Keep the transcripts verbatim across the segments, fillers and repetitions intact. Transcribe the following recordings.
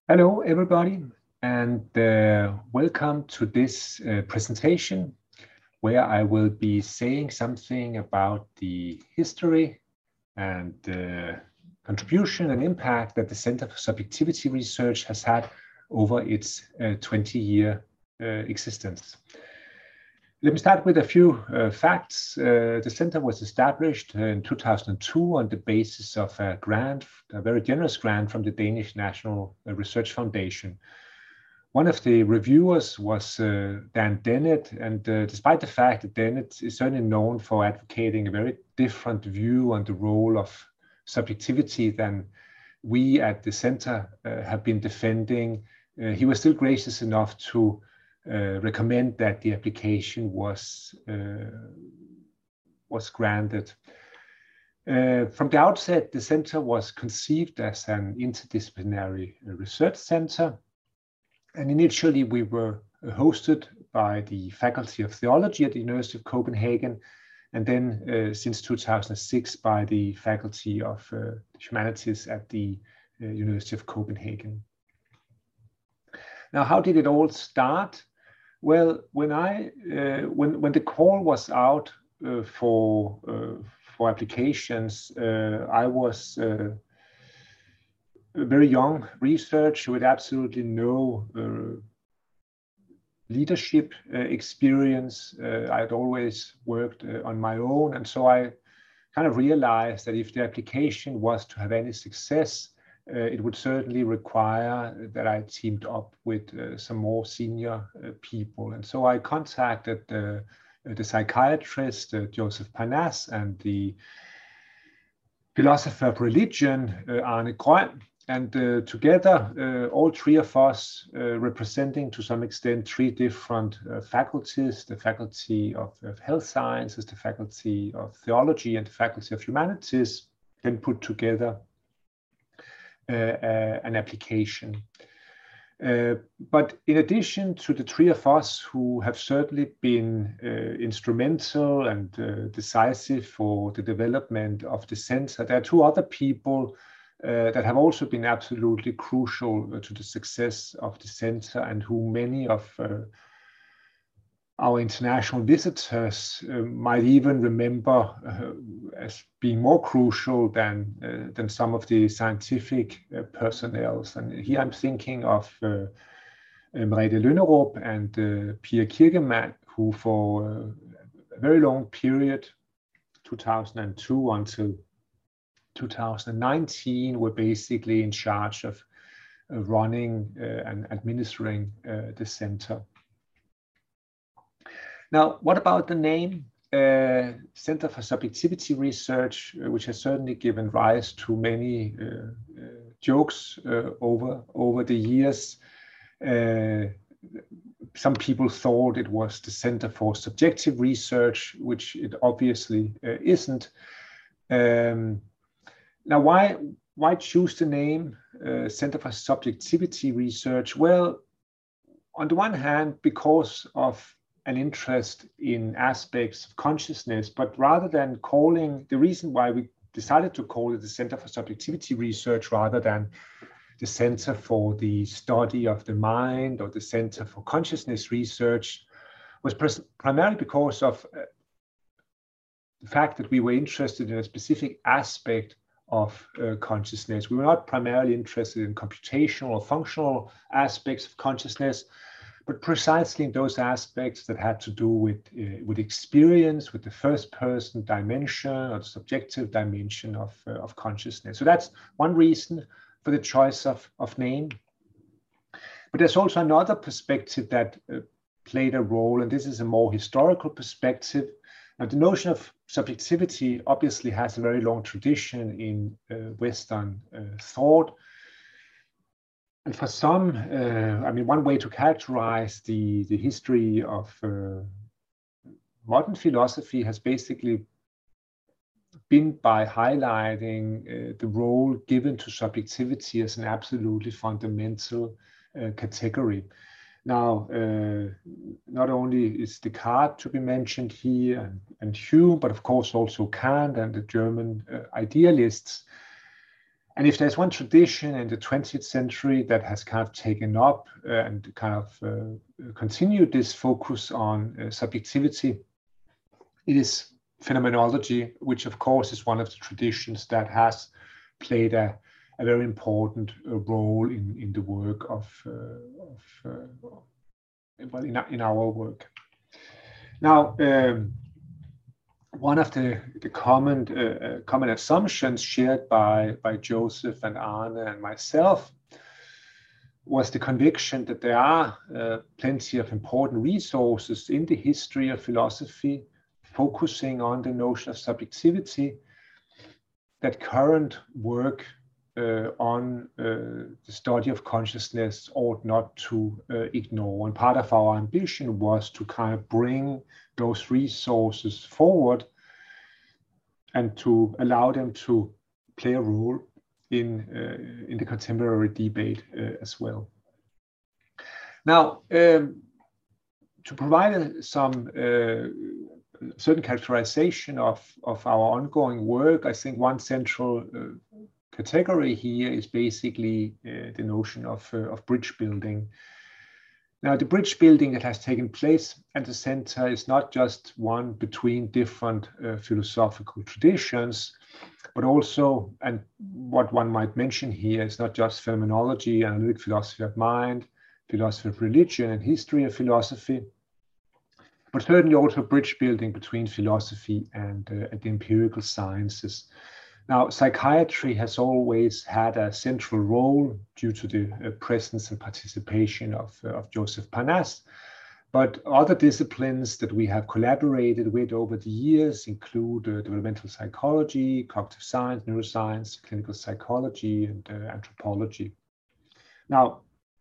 Hello, everybody, and uh, welcome to this uh, presentation where I will be saying something about the history and uh, contribution and impact that the Center for Subjectivity Research has had over its twenty-year uh, uh, existence. Let me start with a few uh, facts. Uh, the center was established in two thousand two on the basis of a grant, a very generous grant from the Danish National Research Foundation. One of the reviewers was uh, Dan Dennett, and uh, despite the fact that Dennett is certainly known for advocating a very different view on the role of subjectivity than we at the center uh, have been defending, uh, he was still gracious enough to Uh, recommend that the application was uh, was granted. Uh, from the outset, the center was conceived as an interdisciplinary research center, and initially we were hosted by the Faculty of Theology at the University of Copenhagen, and then uh, since two thousand six by the Faculty of uh, Humanities at the uh, University of Copenhagen. Now, how did it all start? Well, when I uh, when when the call was out uh, for uh, for applications, uh, I was uh, a very young researcher with absolutely no uh, leadership uh, experience. Uh, I had always worked uh, on my own, and so I kind of realized that if the application was to have any success, Uh, it would certainly require that I teamed up with uh, some more senior uh, people. And so I contacted uh, the psychiatrist, uh, Joseph Parnasse, and the philosopher of religion, uh, Arne Grøn. And uh, together, uh, all three of us, uh, representing to some extent three different uh, faculties, the Faculty of, of Health Sciences, the Faculty of Theology, and the Faculty of Humanities, then put together Uh, uh, an application. Uh, but in addition to the three of us who have certainly been uh, instrumental and uh, decisive for the development of the center, there are two other people uh, that have also been absolutely crucial to the success of the center, and who many of uh, our international visitors uh, might even remember uh, as being more crucial than uh, than some of the scientific uh, personnel. And here I'm thinking of uh, Merete Lynnerup and uh, Pia Kirkemann, who for uh, a very long period, two thousand two until two thousand nineteen, were basically in charge of uh, running uh, and administering uh, the center. Now, what about the name? Uh, Center for Subjectivity Research, uh, which has certainly given rise to many uh, uh, jokes uh, over, over the years. Uh, some people thought it was the Center for Subjective Research, which it obviously uh, isn't. Um, now, why, why choose the name uh, Center for Subjectivity Research? Well, on the one hand, because of an interest in aspects of consciousness, but rather than calling, the reason why we decided to call it the Center for Subjectivity Research rather than the Center for the Study of the Mind or the Center for Consciousness Research was primarily because of uh, the fact that we were interested in a specific aspect of uh, consciousness. We were not primarily interested in computational or functional aspects of consciousness, but precisely in those aspects that had to do with, uh, with experience, with the first-person dimension or the subjective dimension of, uh, of consciousness. So that's one reason for the choice of, of name. But there's also another perspective that uh, played a role, and this is a more historical perspective. Now, the notion of subjectivity obviously has a very long tradition in uh, Western uh, thought. And for some, uh, I mean, one way to characterize the, the history of uh, modern philosophy has basically been by highlighting uh, the role given to subjectivity as an absolutely fundamental uh, category. Now, uh, not only is Descartes to be mentioned here, and, and Hume, but of course also Kant and the German uh, idealists. And if there's one tradition in the twentieth century that has kind of taken up uh, and kind of uh, continued this focus on uh, subjectivity, it is phenomenology, which of course is one of the traditions that has played a, a very important uh, role in, in the work of, uh, of uh, well, in, in our work. Now, um, one of the, the common, uh, common assumptions shared by, by Joseph and Arne and myself was the conviction that there are uh, plenty of important resources in the history of philosophy focusing on the notion of subjectivity that current work uh, on uh, the study of consciousness ought not to uh, ignore. And part of our ambition was to kind of bring those resources forward and to allow them to play a role in, uh, in the contemporary debate uh, as well. Now, um, to provide uh, some uh, certain characterization of, of our ongoing work, I think one central uh, category here is basically uh, the notion of, uh, of bridge building. Now, the bridge building that has taken place at the center is not just one between different uh, philosophical traditions, but also, and what one might mention here is not just phenomenology, analytic philosophy of mind, philosophy of religion, and history of philosophy, but certainly also bridge building between philosophy and, uh, and the empirical sciences. Now, psychiatry has always had a central role due to the uh, presence and participation of, uh, of Joseph Parnasse, but other disciplines that we have collaborated with over the years include uh, developmental psychology, cognitive science, neuroscience, clinical psychology, and uh, anthropology. Now,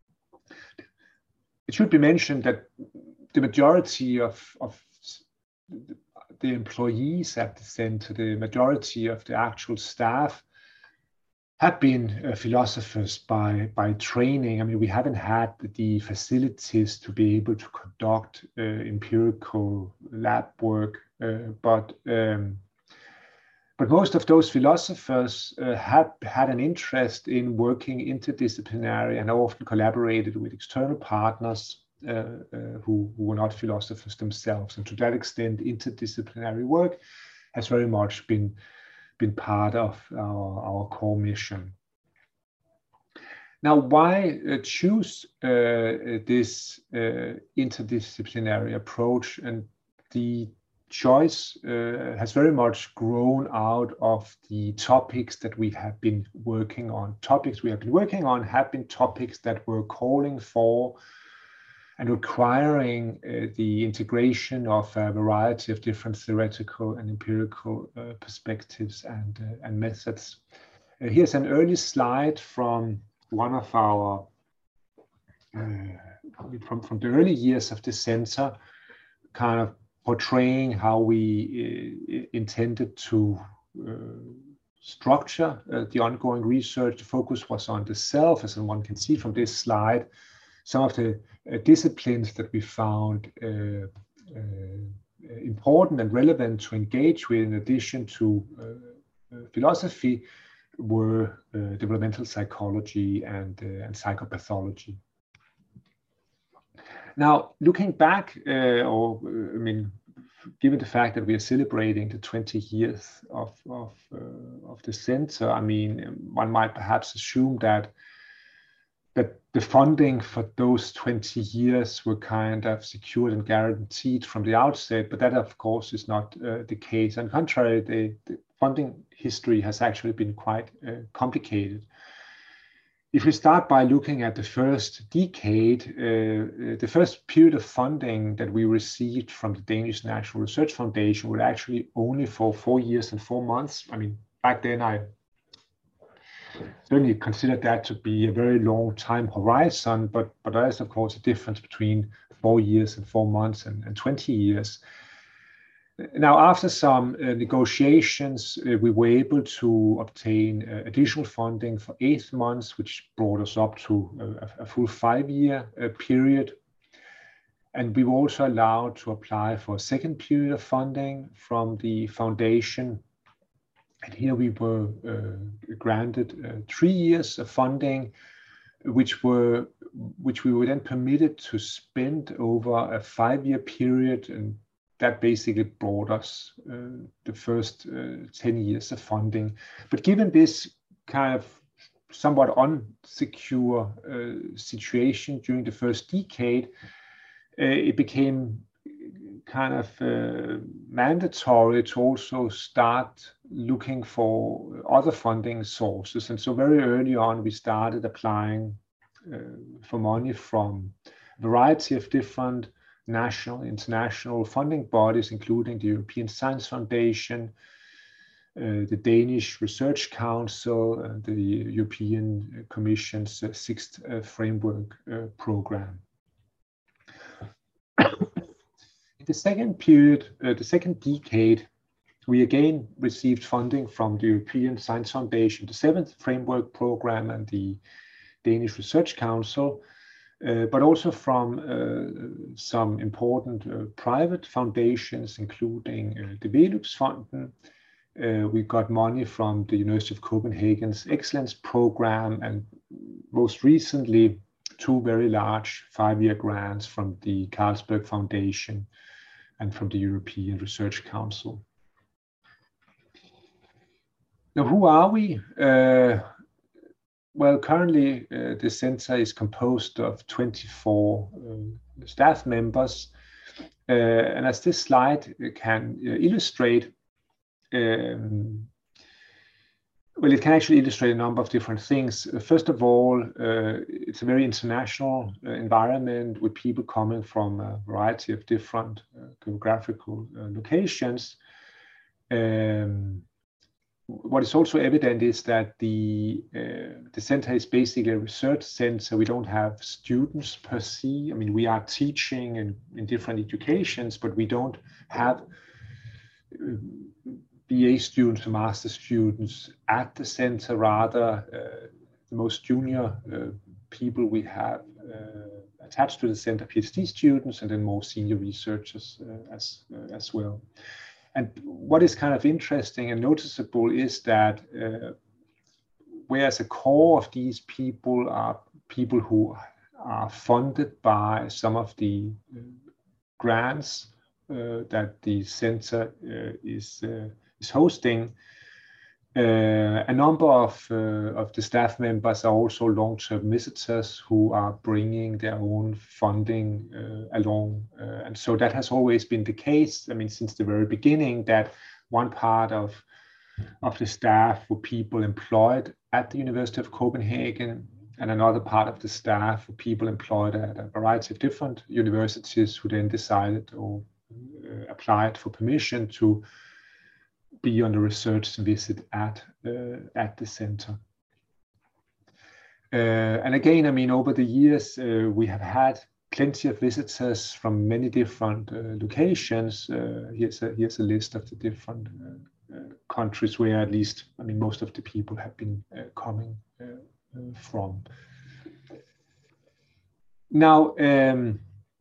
it should be mentioned that the majority of, of the employees at the center, the majority of the actual staff have been uh, philosophers by, by training. I mean, we haven't had the facilities to be able to conduct uh, empirical lab work, uh, but um, but most of those philosophers uh, have had an interest in working interdisciplinary and often collaborated with external partners Uh, uh, who, who were not philosophers themselves. And to that extent, interdisciplinary work has very much been, been part of our, our core mission. Now, why uh, choose uh, this uh, interdisciplinary approach? And the choice uh, has very much grown out of the topics that we have been working on. Topics we have been working on have been topics that were calling for and requiring uh, the integration of a variety of different theoretical and empirical uh, perspectives and, uh, and methods. Uh, here's an early slide from one of our, uh, from, from the early years of the center, kind of portraying how we uh, intended to uh, structure uh, the ongoing research. The focus was on the self, as one can see from this slide. Some of the uh, disciplines that we found uh, uh, important and relevant to engage with, in addition to uh, uh, philosophy, were uh, developmental psychology and, uh, and psychopathology. Now, looking back, uh, or uh, I mean, given the fact that we are celebrating the twenty years of of, uh, of the center, I mean, one might perhaps assume that that the funding for those twenty years were kind of secured and guaranteed from the outset, but that of course is not uh, the case. On the contrary, the, the funding history has actually been quite uh, complicated. If we start by looking at the first decade, uh, the first period of funding that we received from the Danish National Research Foundation was actually only for four years and four months. I mean, back then I certainly consider that to be a very long time horizon, but, but there is of course a difference between four years and four months and, and twenty years. Now, after some uh, negotiations, uh, we were able to obtain uh, additional funding for eight months, which brought us up to a, a full five-year uh, period. And we were also allowed to apply for a second period of funding from the foundation. And here we were uh, granted uh, three years of funding, which were which we were then permitted to spend over a five-year period, and that basically brought us uh, the first uh, ten years of funding. But given this kind of somewhat unsecure uh, situation during the first decade, uh, it became kind of uh, mandatory to also start looking for other funding sources. And so very early on, we started applying uh, for money from a variety of different national, international funding bodies, including the European Science Foundation, uh, the Danish Research Council, and the European Commission's uh, sixth uh, framework uh, program. In the second period, uh, the second decade, we again received funding from the European Science Foundation, the seventh framework program, and the Danish Research Council, uh, but also from uh, some important uh, private foundations, including uh, the Velux-Fonden. Uh, we got money from the University of Copenhagen's Excellence Program, and most recently, two very large five-year grants from the Carlsberg Foundation and from the European Research Council. Now, who are we? Uh, well, currently uh, the center is composed of twenty-four uh, staff members. Uh, and as this slide can uh, illustrate, um, well, it can actually illustrate a number of different things. First of all, uh, it's a very international uh, environment with people coming from a variety of different uh, geographical uh, locations. Um, what is also evident is that the, uh, the center is basically a research center. We don't have students per se. I mean, we are teaching in, in different educations, but we don't have uh, B A students or master students at the center. Rather, uh, the most junior uh, people we have uh, attached to the center, PhD students, and then more senior researchers uh, as, uh, as well. And what is kind of interesting and noticeable is that uh, whereas a core of these people are people who are funded by some of the uh, grants uh, that the center uh, is uh, is hosting, uh, a number of uh, of the staff members are also long-term visitors who are bringing their own funding uh, along, uh, and so that has always been the case. I mean, since the very beginning, that one part of of the staff were people employed at the University of Copenhagen, and another part of the staff were people employed at a variety of different universities who then decided or uh, applied for permission to be on a research visit at uh, at the center. Uh, and again, I mean, over the years, uh, we have had plenty of visitors from many different uh, locations. Uh, here's a here's a list of the different uh, uh, countries where at least, I mean, most of the people have been uh, coming uh, uh, from. Now, um,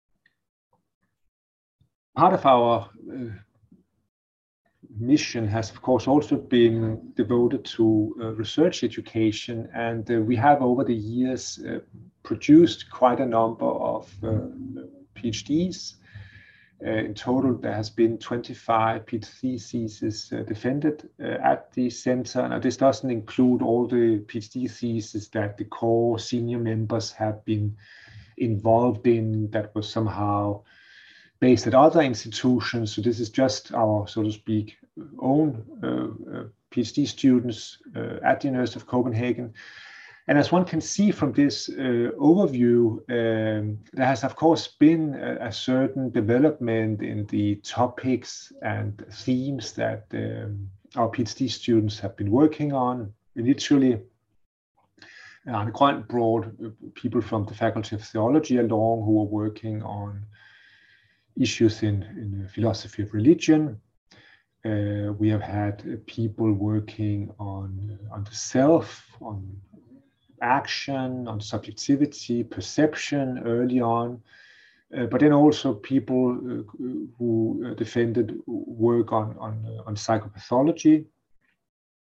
part of our uh, mission has, of course, also been devoted to uh, research education, and uh, we have over the years uh, produced quite a number of uh, PhDs. Uh, in total, there has been twenty-five PhD theses uh, defended uh, at the center. Now, this doesn't include all the PhD theses that the core senior members have been involved in that was somehow based at other institutions. So this is just our, so to speak, own uh, uh, PhD students uh, at the University of Copenhagen. And as one can see from this uh, overview, um, there has, of course, been a, a certain development in the topics and themes that um, our PhD students have been working on. Initially, Arne Grøn brought people from the Faculty of Theology along who were working on issues in, in philosophy of religion. Uh, we have had uh, people working on, uh, on the self, on action, on subjectivity, perception early on, uh, but then also people uh, who uh, defended work on, on, uh, on psychopathology.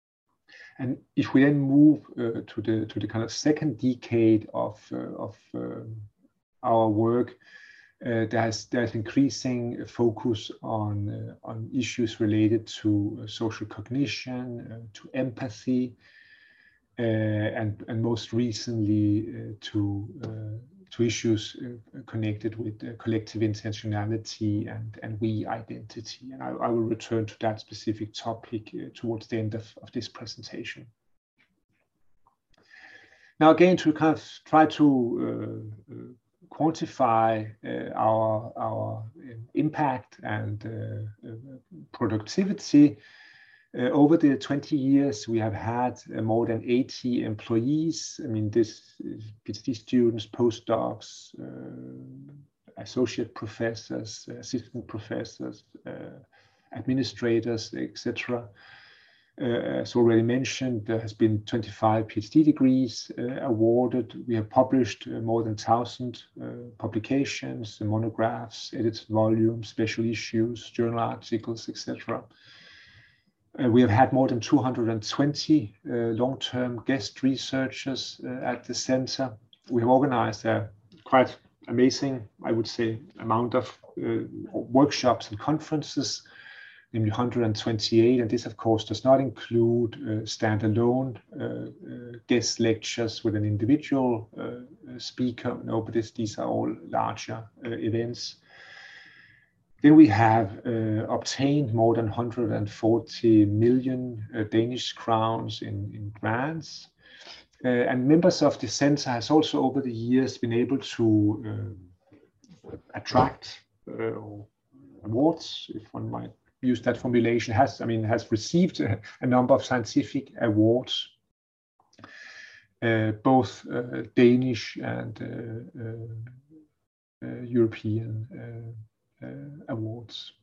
And if we then move uh, to the to the kind of second decade of uh, of uh, our work, uh, there's there's increasing focus on uh, on issues related to uh, social cognition, uh, to empathy, uh, and and most recently uh, to uh, to issues uh, connected with uh, collective intentionality and and we identity. And I, I will return to that specific topic uh, towards the end of, of this presentation. Now, again, to kind of try to uh, uh, quantify uh, our, our impact and uh, uh, productivity, uh, over the twenty years, we have had uh, more than eighty employees. I mean, this is PhD students, postdocs, uh, associate professors, assistant professors, uh, administrators, et cetera. Uh, as already mentioned, there has been twenty-five PhD degrees uh, awarded. We have published uh, more than one thousand uh, publications, monographs, edited volumes, special issues, journal articles, et cetera. Uh, we have had more than two hundred twenty uh, long-term guest researchers uh, at the center. We have organized a quite amazing, I would say, amount of uh, workshops and conferences, namely one hundred twenty-eight, and this of course does not include uh, standalone uh, uh, guest lectures with an individual uh, speaker. No, but this, these are all larger uh, events. Then we have uh, obtained more than one hundred forty million uh, Danish crowns in, in grants. Uh, and members of the center has also over the years been able to uh, attract uh, awards, if one might use that formulation, has, I mean, has received a, a number of scientific awards, uh, both uh, Danish and uh, uh, uh, European uh, uh, awards.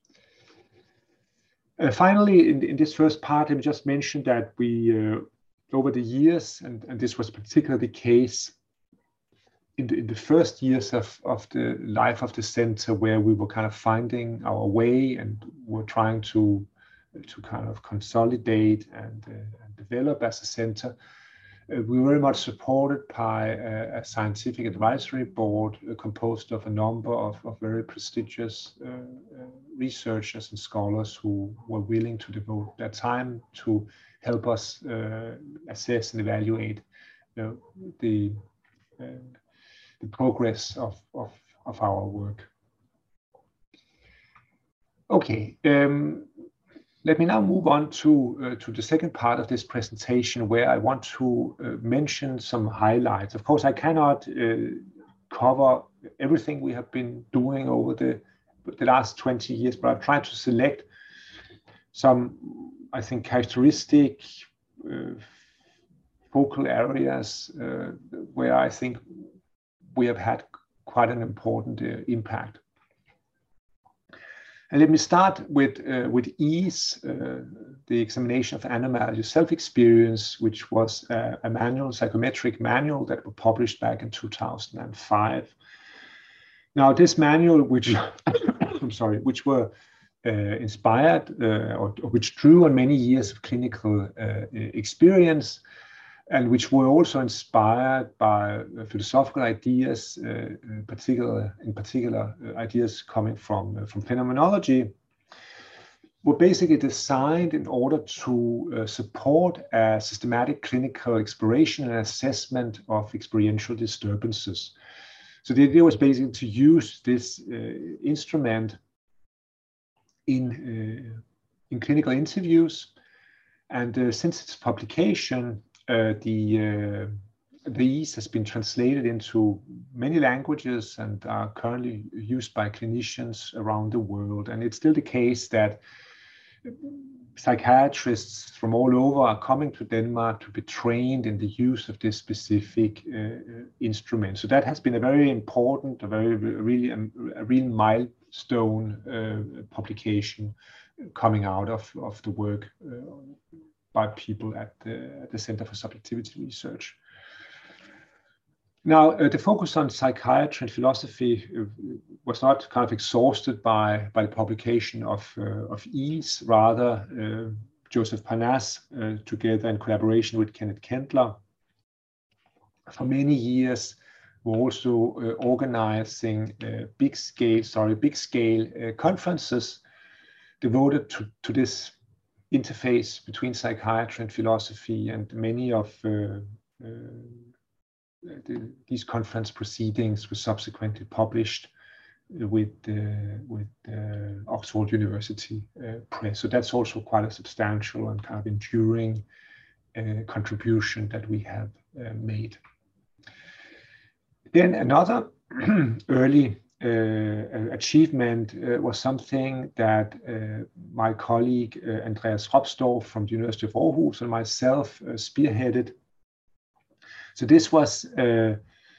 Uh, finally, in, in this first part, I just mentioned that we, uh, over the years, and, and this was particularly the case In the, in the first years of, of the life of the center, where we were kind of finding our way and were trying to, to kind of consolidate and, uh, and develop as a center, uh, we were very much supported by a, a scientific advisory board uh, composed of a number of, of very prestigious uh, uh, researchers and scholars who were willing to devote their time to help us uh, assess and evaluate uh, the uh, the progress of, of, of our work. Okay, um, let me now move on to, uh, to the second part of this presentation, where I want to uh, mention some highlights. Of course, I cannot uh, cover everything we have been doing over the, the last twenty years, but I've tried to select some, I think, characteristic uh, focal areas uh, where I think we have had quite an important uh, impact. And let me start with, uh, with EASE, uh, the examination of animal self-experience, which was uh, a manual, psychometric manual that was published back in two thousand five. Now, this manual, which I'm sorry, which were uh, inspired uh, or, or which drew on many years of clinical uh, experience, and which were also inspired by uh, philosophical ideas, uh, in particular, in particular uh, ideas coming from, uh, from phenomenology, were basically designed in order to uh, support a systematic clinical exploration and assessment of experiential disturbances. So the idea was basically to use this uh, instrument in, uh, in clinical interviews, and uh, since its publication, Uh, the, uh, the EASE has been translated into many languages and are currently used by clinicians around the world. And it's still the case that psychiatrists from all over are coming to Denmark to be trained in the use of this specific uh, instrument. So that has been a very important, a very really a, a real milestone uh, publication coming out of, of the work uh, by people at the, at the Center for Subjectivity Research. Now, uh, the focus on psychiatry and philosophy uh, was not kind of exhausted by, by the publication of, uh, of EASE. Rather, uh, Joseph Parnasse, uh, together in collaboration with Kenneth Kendler, for many years were also uh, organizing uh, big scale, sorry, big scale uh, conferences devoted to, to this interface between psychiatry and philosophy, and many of uh, uh, the, these conference proceedings were subsequently published with uh, with uh, Oxford University uh, Press. So that's also quite a substantial and kind of enduring uh, contribution that we have uh, made. Then another early uh, achievement uh, was something that uh, my colleague uh, Andreas Ropsdorf from the University of Aarhus and myself uh, spearheaded. So this was uh,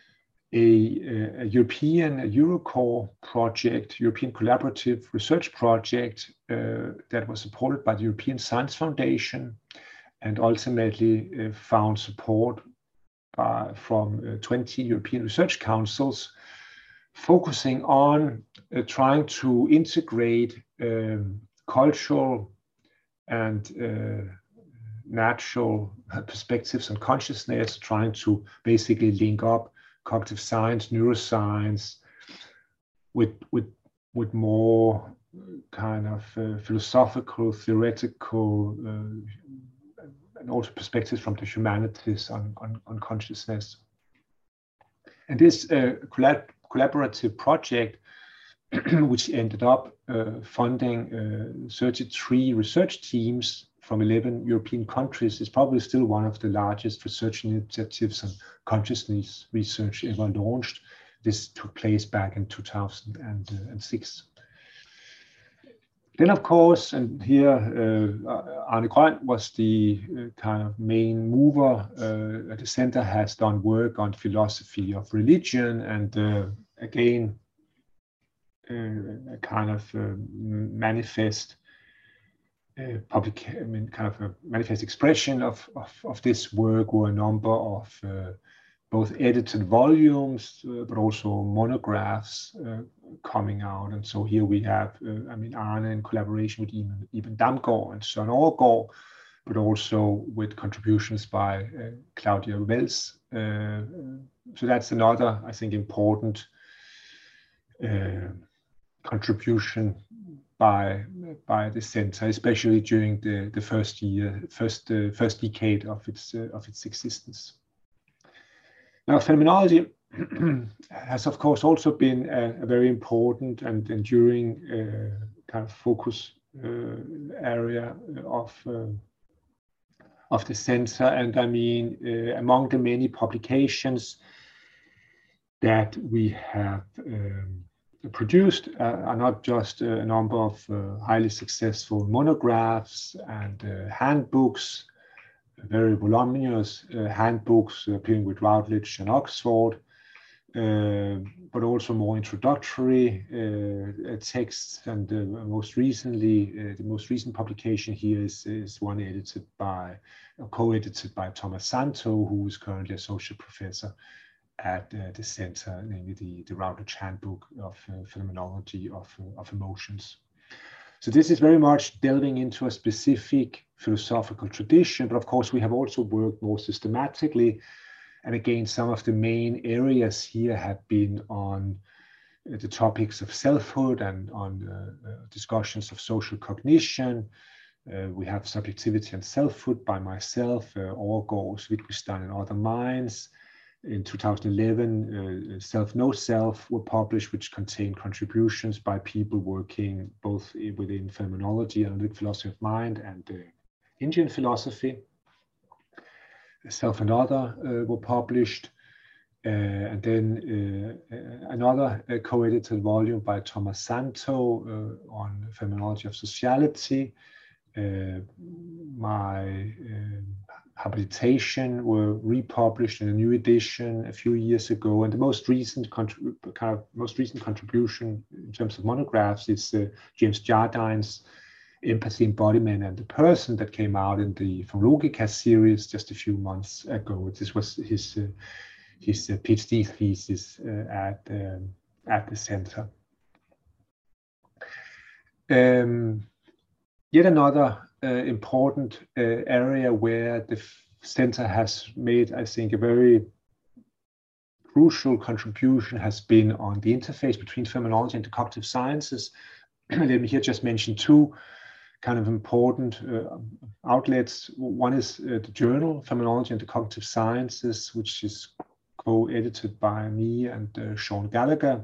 a, a European a EuroCore project, European Collaborative Research Project uh, that was supported by the European Science Foundation and ultimately uh, found support by, from uh, twenty European research councils, focusing on uh, trying to integrate um, cultural and uh, natural perspectives on consciousness, trying to basically link up cognitive science, neuroscience, with with with more kind of uh, philosophical, theoretical, uh, and also perspectives from the humanities on on, on consciousness. And this uh, collab collaborative project, which ended up uh, funding uh, thirty-three research teams from eleven European countries, is probably still one of the largest research initiatives on consciousness research ever launched. This took place back in two thousand six. Then, of course, and here uh, Arne Grøn was the uh, kind of main mover. Uh, the center has done work on philosophy of religion, and uh, again, uh, a kind of uh, manifest uh, public, I mean, kind of a manifest expression of, of, of this work were a number of uh, both edited volumes, uh, but also monographs uh, coming out. And so here we have, uh, I mean, Arne in collaboration with Iben, Iben Damgaard and Søren Overgaard, but also with contributions by uh, Claudia Wells. Uh, so that's another, I think, important uh, contribution by by the center, especially during the the first year, first uh, first decade of its uh, of its existence. Now, phenomenology has, of course, also been a, a very important and enduring uh, kind of focus uh, area of uh, of the center. And I mean, uh, among the many publications that we have um, produced uh, are not just a number of uh, highly successful monographs and uh, handbooks, very voluminous uh, handbooks appearing with Routledge and Oxford, uh, but also more introductory uh, texts. And uh, most recently, uh, the most recent publication here is, is one edited by, uh, co-edited by Thomas Santo, who is currently associate professor at uh, the center, namely the, the Routledge Handbook of uh, Phenomenology of, uh, of Emotions. So this is very much delving into a specific philosophical tradition, but of course we have also worked more systematically. And again, some of the main areas here have been on uh, the topics of selfhood and on uh, uh, discussions of social cognition. Uh, we have Subjectivity and Selfhood by myself, uh, Overgaard, Wittgenstein and Other Minds. In two thousand eleven, uh, Self No Self were published, which contain contributions by people working both within phenomenology, analytic philosophy of mind, and uh, Indian philosophy. Self and Other uh, were published. Uh, and then uh, another uh, co-edited volume by Thomas Santo uh, on phenomenology of sociality. Uh, my uh, habilitation were republished in a new edition a few years ago, and the most recent kind of most recent contribution in terms of monographs is uh, James Jardine's Empathy, Embodiment, and the Person that came out in the From Logica series just a few months ago. This was his uh, his uh, PhD thesis uh, at um, at the center. Um, Yet another uh, important uh, area where the center has made, I think, a very crucial contribution has been on the interface between phenomenology and the cognitive sciences. Let me here just mention two kind of important uh, outlets. One is uh, the journal Phenomenology and the Cognitive Sciences, which is co-edited by me and uh, Sean Gallagher,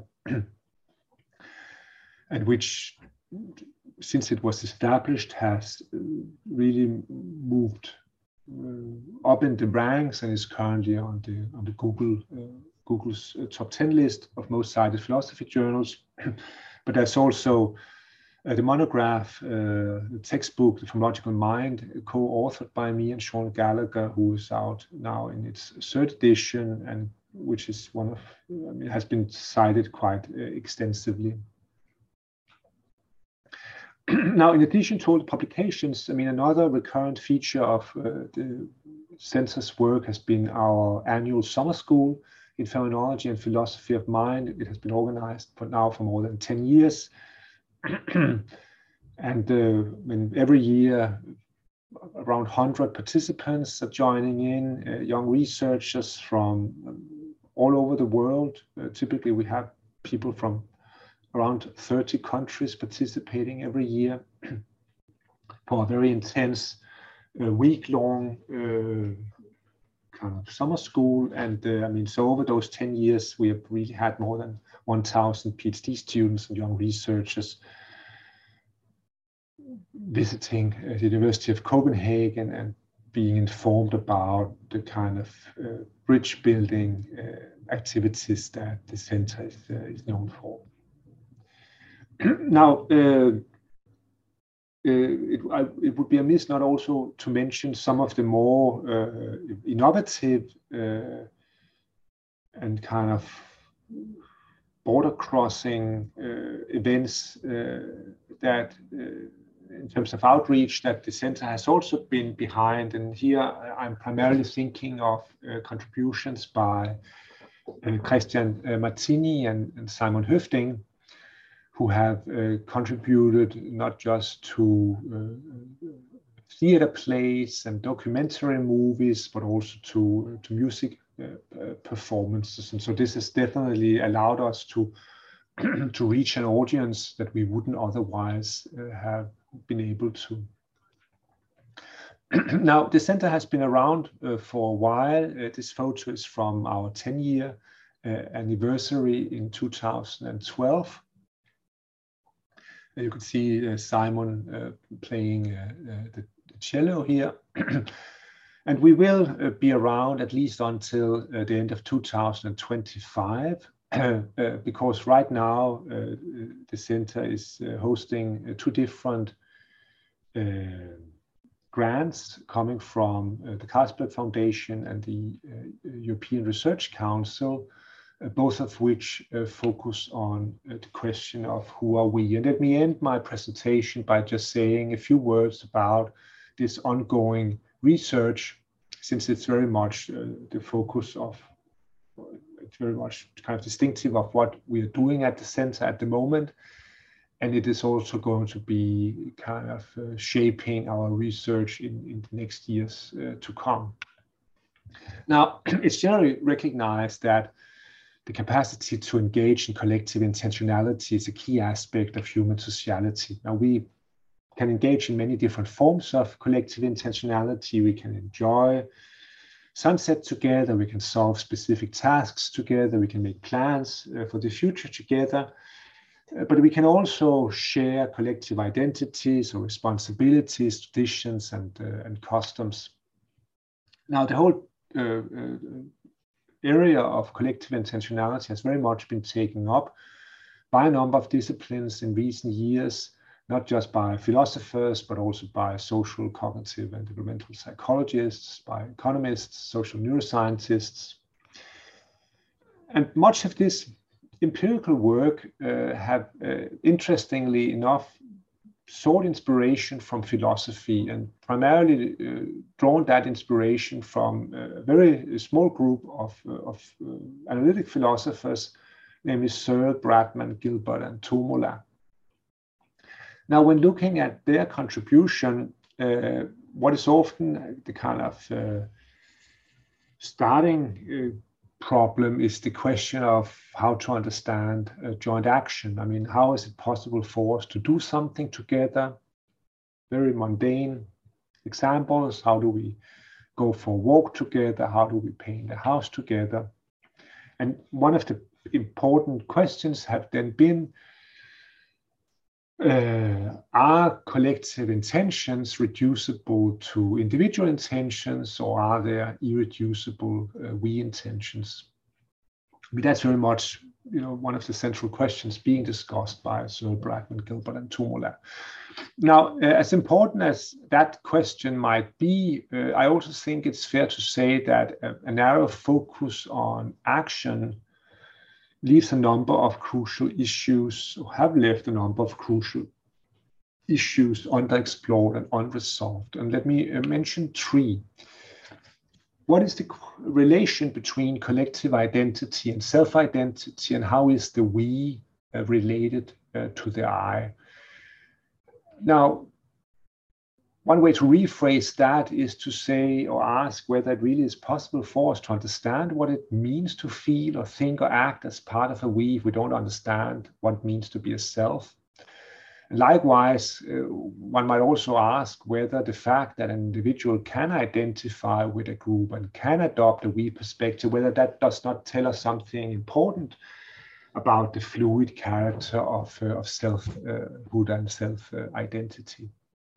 and which, since it was established, has really moved uh, up in the ranks and is currently on the on the Google uh, Google's uh, top ten list of most cited philosophy journals. But there's also uh, the monograph, uh, the textbook, The Phenomenological Mind, co-authored by me and Sean Gallagher, who is out now in its third edition, and which is one of, I mean, has been cited quite uh, extensively. Now, in addition to all the publications, I mean, another recurrent feature of uh, the Center's work has been our annual summer school in Phenomenology and Philosophy of Mind. It has been organized for now for more than ten years. And uh, when every year, around one hundred participants are joining in, uh, young researchers from um, all over the world. Uh, typically, we have people from around thirty countries participating every year for a very intense uh, week-long uh, kind of summer school. And uh, I mean, so over those ten years, we have really had more than one thousand PhD students and young researchers visiting uh, the University of Copenhagen and being informed about the kind of uh, bridge building uh, activities that the center is, uh, is known for. Now, uh, Uh, it, I, it would be amiss not also to mention some of the more uh, innovative uh, and kind of border-crossing uh, events uh, that, uh, in terms of outreach, that the center has also been behind. And here I'm primarily thinking of uh, contributions by uh, Christian uh, Martini and, and Simon Høfting, who have uh, contributed not just to uh, theater plays and documentary movies, but also to, uh, to music uh, uh, performances. And so this has definitely allowed us to, to reach an audience that we wouldn't otherwise uh, have been able to. Now, the center has been around uh, for a while. Uh, this photo is from our ten year uh, anniversary in two thousand twelve. You can see uh, Simon uh, playing uh, uh, the, the cello here. And we will uh, be around at least until uh, the end of two thousand twenty-five, uh, uh, because right now uh, the center is uh, hosting uh, two different uh, grants coming from uh, the Carlsberg Foundation and the uh, European Research Council, Uh, both of which uh, focus on uh, the question of who are we. And let me end my presentation by just saying a few words about this ongoing research, since it's very much uh, the focus of, it's very much kind of distinctive of what we are doing at the center at the moment. And it is also going to be kind of uh, shaping our research in, in the next years uh, to come. Now, it's generally recognized that the capacity to engage in collective intentionality is a key aspect of human sociality. Now, we can engage in many different forms of collective intentionality. We can enjoy sunset together, we can solve specific tasks together, we can make plans uh, for the future together, uh, but we can also share collective identities or responsibilities, traditions, and, uh, and customs. Now, the whole uh, uh, area of collective intentionality has very much been taken up by a number of disciplines in recent years, not just by philosophers, but also by social, cognitive, and developmental psychologists, by economists, social neuroscientists. And much of this empirical work uh, have, uh, interestingly enough, sought inspiration from philosophy, and primarily uh, drawn that inspiration from a very small group of, uh, of uh, analytic philosophers, namely Searle, Bradman, Gilbert, and Tuomola. Now, when looking at their contribution, uh, what is often the kind of uh, starting uh, problem is the question of how to understand uh, joint action. I mean, how is it possible for us to do something together? Very mundane examples. How do we go for a walk together? How do we paint a house together? And one of the important questions have then been, uh, are collective intentions reducible to individual intentions, or are there irreducible uh, we intentions? I mean, that's very much, you know, one of the central questions being discussed by Searle, Bradman, Gilbert, and Tuomola. Now, uh, as important as that question might be, uh, I also think it's fair to say that a, a narrow focus on action leaves a number of crucial issues, or have left a number of crucial issues underexplored and unresolved. And let me uh, mention three. What is the relation between collective identity and self-identity, and how is the we uh, related uh, to the I? Now, one way to rephrase that is to say or ask whether it really is possible for us to understand what it means to feel or think or act as part of a we if we don't understand what it means to be a self. And likewise, uh, one might also ask whether the fact that an individual can identify with a group and can adopt a we perspective, whether that does not tell us something important about the fluid character of, uh, of selfhood uh, and self-identity.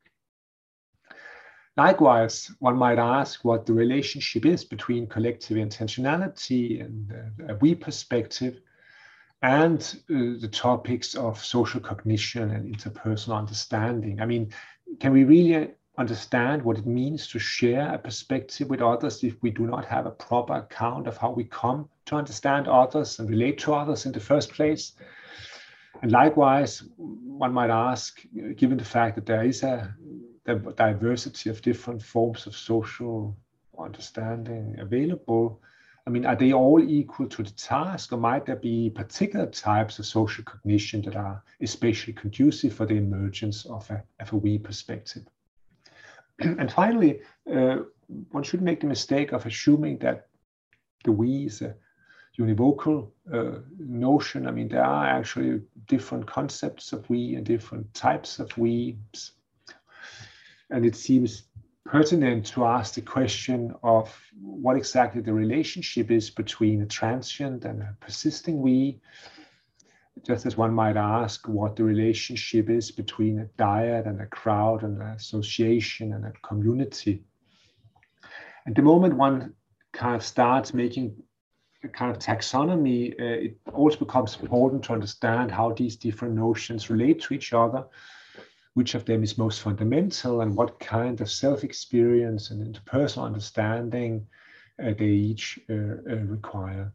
Likewise, one might ask what the relationship is between collective intentionality and uh, a we perspective and uh, the topics of social cognition and interpersonal understanding. I mean, can we really understand what it means to share a perspective with others if we do not have a proper account of how we come to understand others and relate to others in the first place? And likewise, one might ask, given the fact that there is a the diversity of different forms of social understanding available, I mean, are they all equal to the task, or might there be particular types of social cognition that are especially conducive for the emergence of a, of a we perspective? And finally, uh, one shouldn't make the mistake of assuming that the we is a univocal uh, notion. I mean, there are actually different concepts of we and different types of we's. And it seems pertinent to ask the question of what exactly the relationship is between a transient and a persisting we, just as one might ask what the relationship is between a dyad and a crowd and an association and a community. And the moment one kind of starts making a kind of taxonomy, uh, it also becomes important to understand how these different notions relate to each other, which of them is most fundamental, and what kind of self-experience and interpersonal understanding uh, they each uh, uh, require.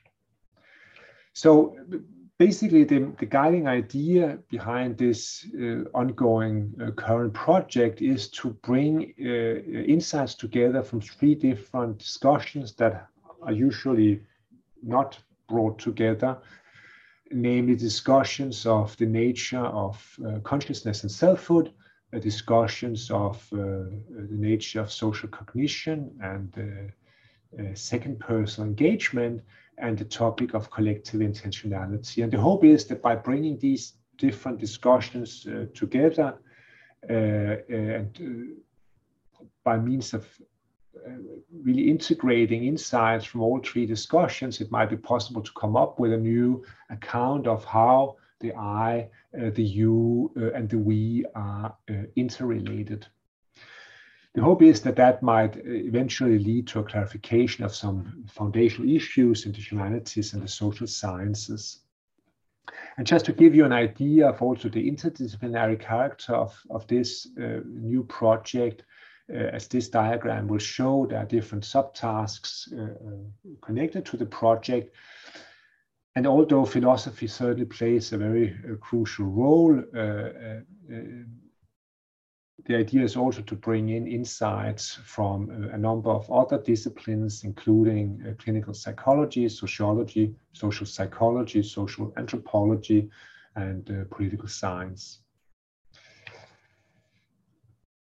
So basically, the, the guiding idea behind this uh, ongoing uh, current project is to bring uh, insights together from three different discussions that are usually not brought together, namely discussions of the nature of uh, consciousness and selfhood, uh, discussions of uh, the nature of social cognition and uh, uh, second person engagement, and the topic of collective intentionality. And the hope is that by bringing these different discussions uh, together uh, and uh, by means of Uh, really integrating insights from all three discussions, it might be possible to come up with a new account of how the I, uh, the you, uh, and the we are uh, interrelated. The hope is that that might eventually lead to a clarification of some foundational issues in the humanities and the social sciences. And just to give you an idea of also the interdisciplinary character of, of this uh, new project, Uh, as this diagram will show, there are different subtasks uh, uh, connected to the project. And although philosophy certainly plays a very uh, crucial role, uh, uh, uh, the idea is also to bring in insights from uh, a number of other disciplines, including uh, clinical psychology, sociology, social psychology, social anthropology, and uh, political science.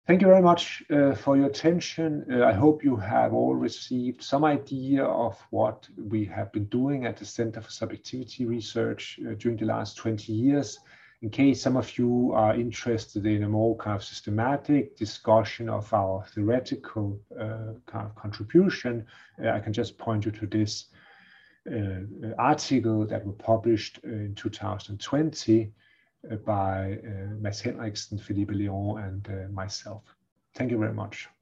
Thank you very much uh, for your attention. Uh, I hope you have all received some idea of what we have been doing at the Center for Subjectivity Research uh, during the last twenty years. In case some of you are interested in a more kind of systematic discussion of our theoretical uh, kind of contribution, uh, I can just point you to this uh, article that was published in two thousand twenty by uh, Mads Henriksen, Philippe Léon, and uh, myself. Thank you very much.